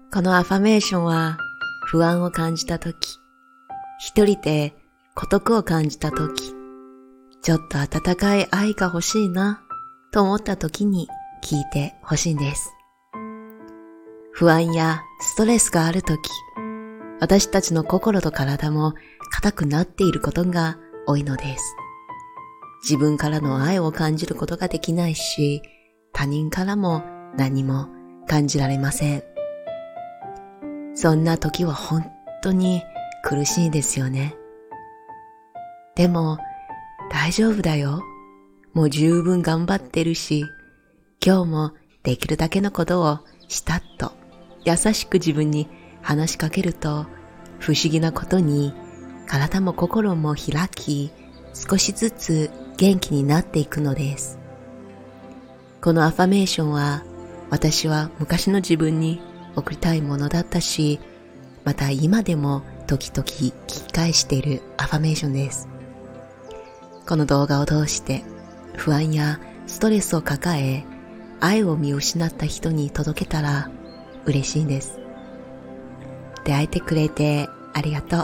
このアファメーションは不安を感じたとき、一人で孤独を感じたとき、ちょっと温かい愛が欲しいなと思ったときに聞いてほしいんです。不安やストレスがあるとき、私たちの心と体も硬くなっていることが多いのです。自分からの愛を感じることができないし、他人からも何も感じられません。そんな時は本当に苦しいですよね。でも大丈夫だよ。もう十分頑張ってるし、今日もできるだけのことをしたと優しく自分に話しかけると、不思議なことに体も心も開き、少しずつ元気になっていくのです。このアファメーションは私は昔の自分に送りたいものだったし、また今でも時々聞き返しているアファメーションです。この動画を通して不安やストレスを抱え、愛を見失った人に届けたら嬉しいんです。出会えてくれてありがとう。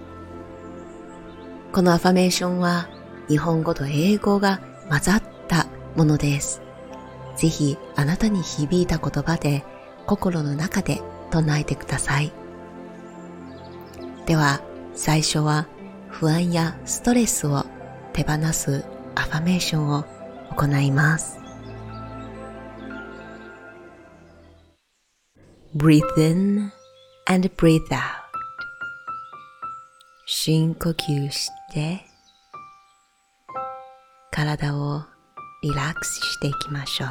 このアファメーションは日本語と英語が混ざったものです。ぜひあなたに響いた言葉で心の中で唱えてください。では最初は不安やストレスを手放すアファメーションを行います。Breathe in and breathe out。 深呼吸して体をリラックスしていきましょう。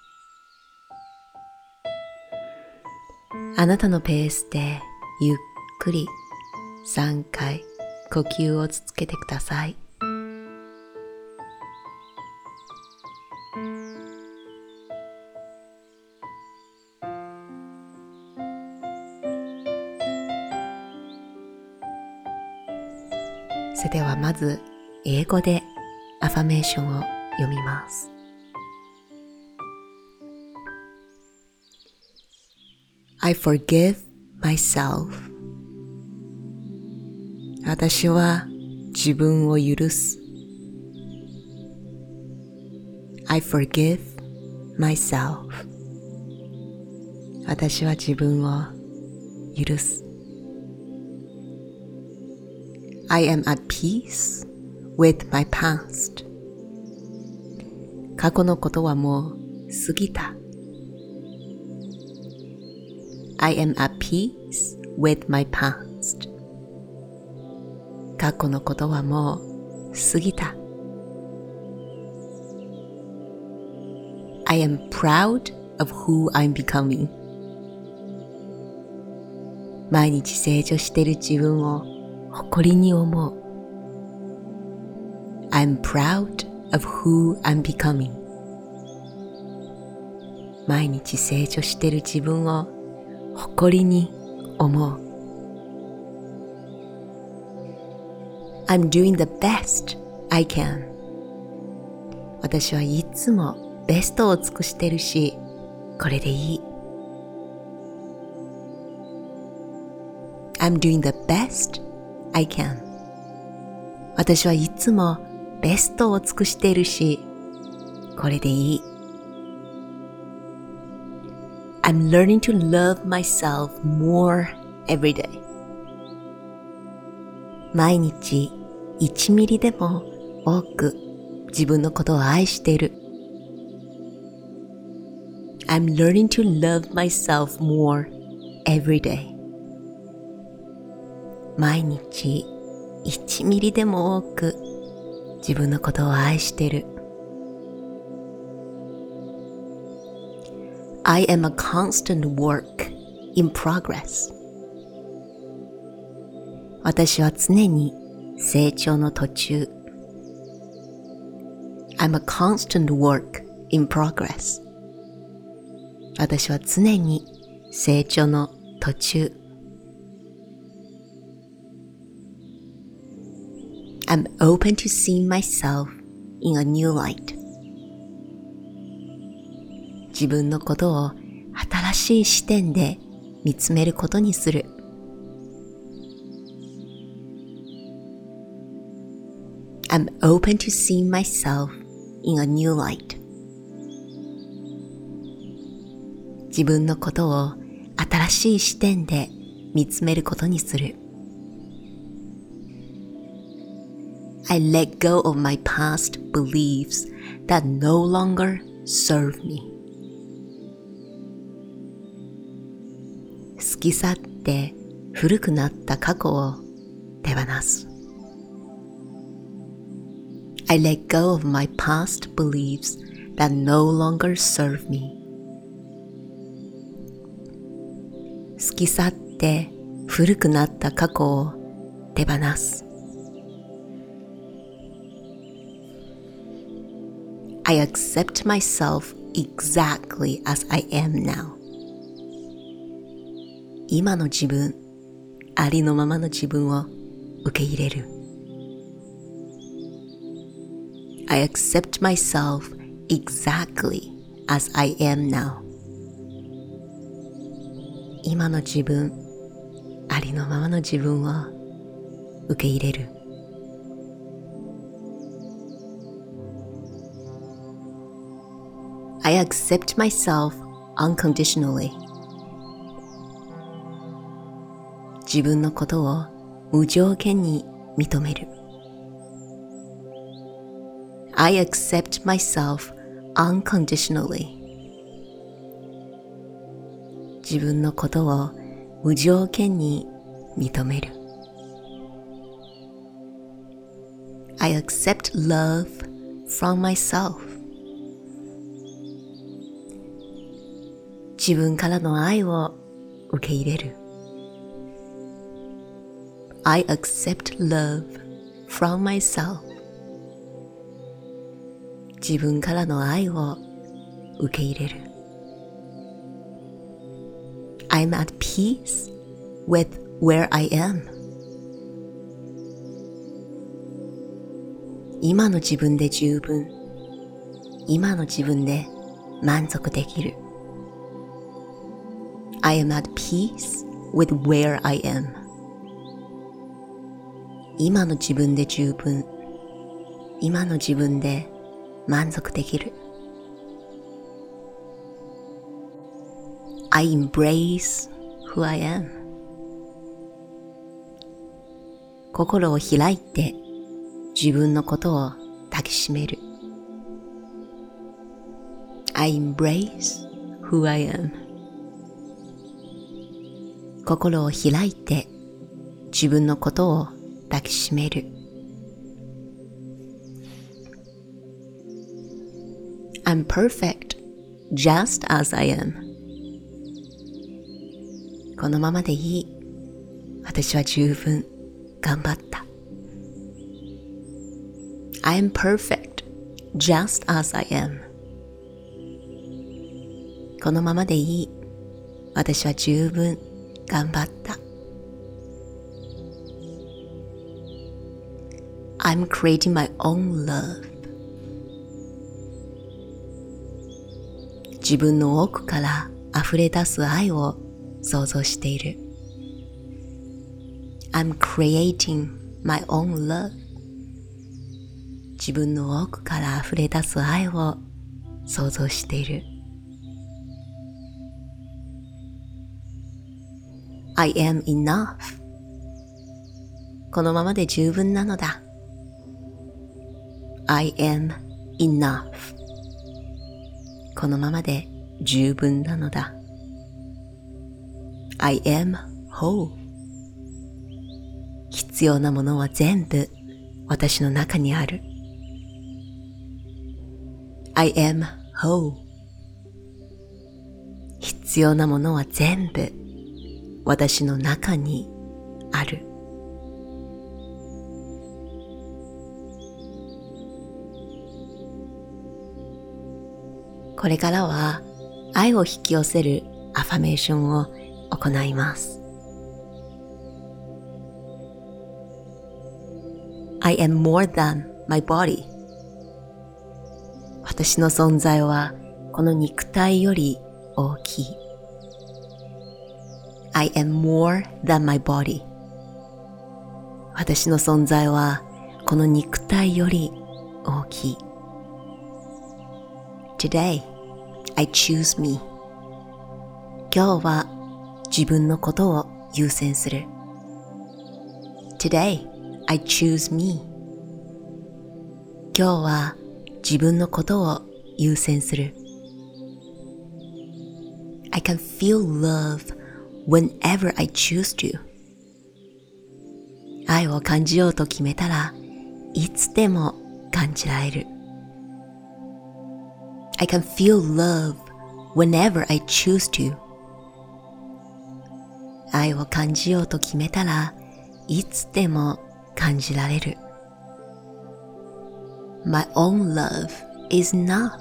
あなたのペースでゆっくり3回呼吸を続けてください。それではまず英語でアファメーションを読みます。I forgive myself。 私は自分を許す。 I forgive myself。 私は自分を許す。I am at peace with my past。 過去のことはもう過ぎた。I am at peace with my past。 過去のことはもう過ぎた。I am proud of who I'm becoming。 毎日成長している自分を誇りに思う。 I'm proud of who I'm becoming。 毎日成長している自分を誇りに思う。 I'm doing the best I can。 私はいつもベストを尽くしてるし、これでいい。 I'm doing the best I can。 私はいつもベストを尽くしているし、これでいい。I'm learning to love myself more every day。 毎日1ミリでも多く自分のことを愛している。 I'm learning to love myself more every day。 毎日1ミリでも多く自分のことを愛している。I am a constant work in progress。 私は常に成長の途中。 I'm a constant work in progress。 私は常に成長の途中。 I'm open to seeing myself in a new light。 自分のことを新しい視点で見つめることにする。I'm open to seeing myself in a new light. 自分のことを新しい視点で見つめることにする。I let go of my past beliefs that no longer serve me. 過ぎ去って古くなった過去を手放す。I let go of my past beliefs that no longer serve me. 過ぎ去って古くなった過去を手放す。I accept myself exactly as I am now. 今の自分、ありのままの自分を受け入れる。I accept myself exactly as I am now. 今の自分、ありのままの自分を受け入れる。I accept myself unconditionally. 自分のことを無条件に認める。I accept myself unconditionally. 自分のことを無条件に認める。I accept love from myself. 自分からの愛を受け入れる。I accept love from myself. 自分からの愛を受け入れる。I'm at peace with where I am. 今の自分で十分。今の自分で満足できる。I am at peace with where I am. 今の自分で十分。今の自分で満足できる。I embrace who I am. 心を開いて自分のことを抱きしめる。I embrace who I am. 心を開いて自分のことを抱きしめる。I'm perfect just as I am. このままでいい。私は十分頑張った。I'm perfect just as I am. このままでいい。私は十分頑張った。I'm creating my own love. 自分の奥から溢れ出す愛を想像している。I'm creating my own love. 自分の奥から溢れ出す愛を想像している。I am enough. このままで十分なのだ。I am enough. このままで十分なのだ。I am whole. 必要なものは全部私の中にある。I am whole. 必要なものは全部私の中にある。これからは愛を引き寄せるアファメーションを行います。I am more than my body. 私の存在はこの肉体より大きい。 I am more than my body. 私の存在はこの肉体より大きい。Today, I choose me. 今日は自分のことを優先する。Today, I choose me. 今日は自分のことを優先する。I can feel love whenever I choose to. 愛を感じようと決めたらいつでも感じられる。I can feel love whenever I choose to. 愛を感じようと決めたらいつでも感じられる。My own love is enough.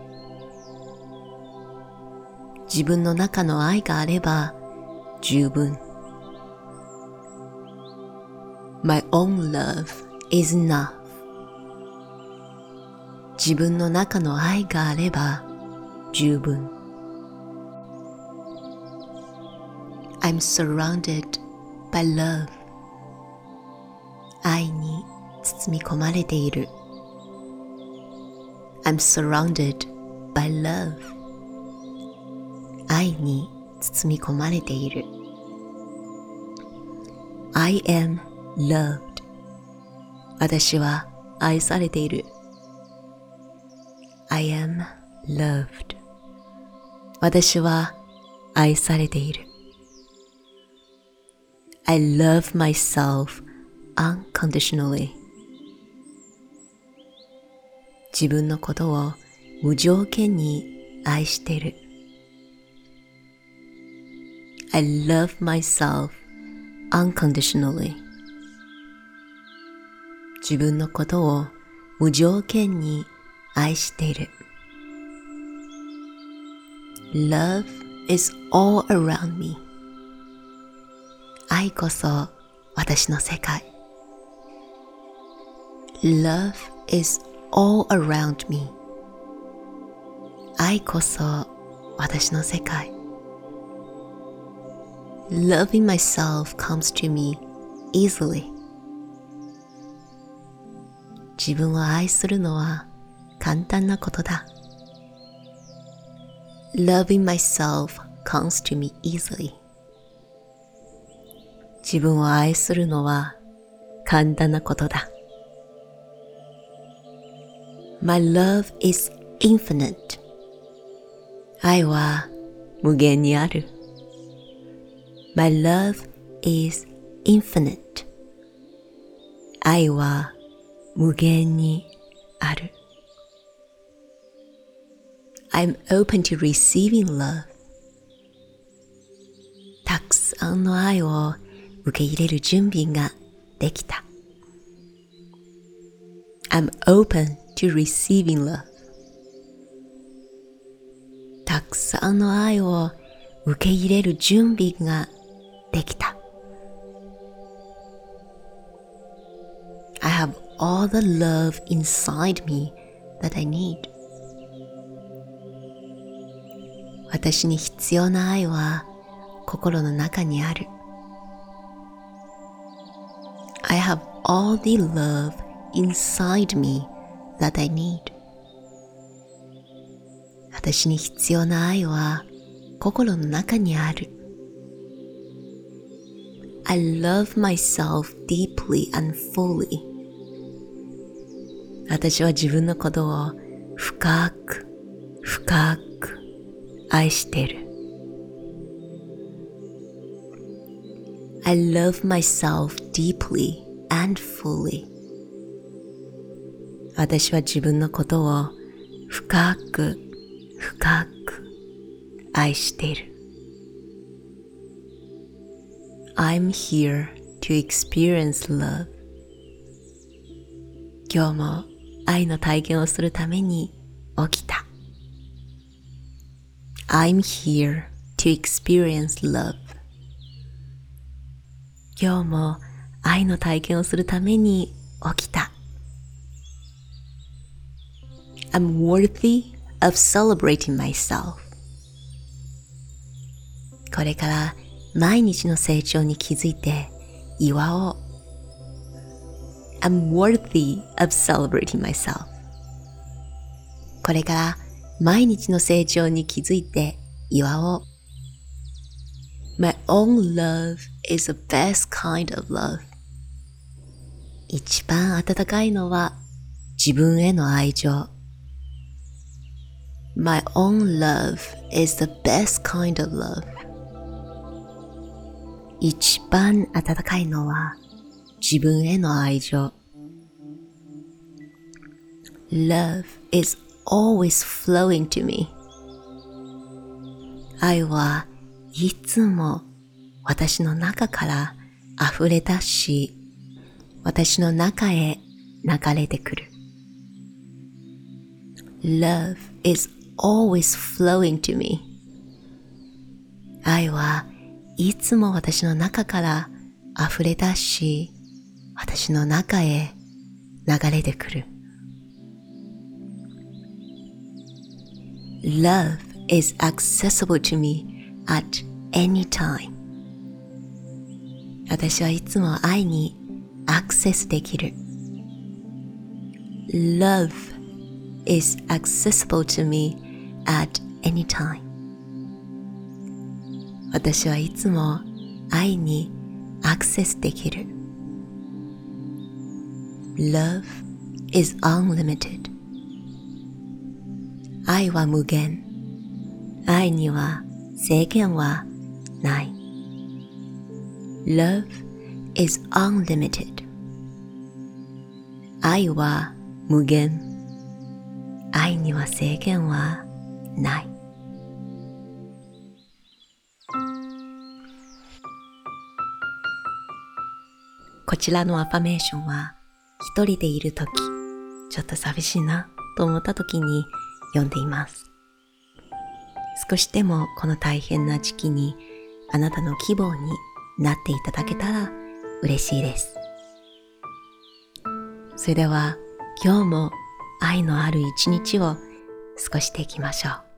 自分の中の愛があれば十分。My own love is enough. 自分の中の愛があれば十分。I'm surrounded by love. 愛に包み込まれている。I'm surrounded by love. 愛に包み込まれている。I am loved. 私は愛されている。I am loved. 私は愛されている。I love myself unconditionally. 自分のことを無条件に愛している。I love myself unconditionally. 自分のことを無条件に愛している。Love is all around me. 愛こそ私の世界。Love is all around me. 愛こそ私の世界。Loving myself comes to me easily. 自分を愛するのは簡単なことだ。Loving myself comes to me easily. 自分を愛するのは簡単なことだ。My love is infinite. 愛は無限にある。My love is infinite. 愛は無限にある。I'm open to receiving love. たくさんの愛を受け入れる準備ができた。I'm open to receiving love. たくさんの愛を受け入れる準備ができた。I have all the love inside me that I need. 私に必要な愛は心の中にある。I have all the love inside me that I need. 私に必要な愛は心の中にある。I love myself deeply and fully. 私は自分のことを深く深く愛している。I love myself deeply and fully. 私は自分のことを深く深く愛している。I'm here to experience love. 今日も愛の体験をするために起きた。I'm here to experience love. 今日も愛の体験をするために起きた。I'm worthy of celebrating myself. これから毎日の成長に気づいて祝おう。I'm worthy of celebrating myself. これから毎日の成長に気づいて祝おう。My own love is the best kind of love. 一番温かいのは自分への愛情。My own love is the best kind of love. 一番温かいのは自分への愛情。Love is always flowing to me. 愛はいつも私の中から溢れ出し、私の中へ流れてくる。Love is always flowing to me. 愛はいつも私の中から溢れ出し、私の中へ流れてくる。Love is accessible to me at any time. 私はいつも愛にアクセスできる。Love is accessible to me at any time. 私はいつも愛にアクセスできる。Love is unlimited. 愛は無限。愛には制限はない。Love is unlimited. 愛は無限。愛には制限はない。こちらのアファメーションは一人でいるとき、ちょっと寂しいなと思ったときに読んでいます。少しでもこの大変な時期にあなたの希望になっていただけたら嬉しいです。それでは今日も愛のある一日を過ごしていきましょう。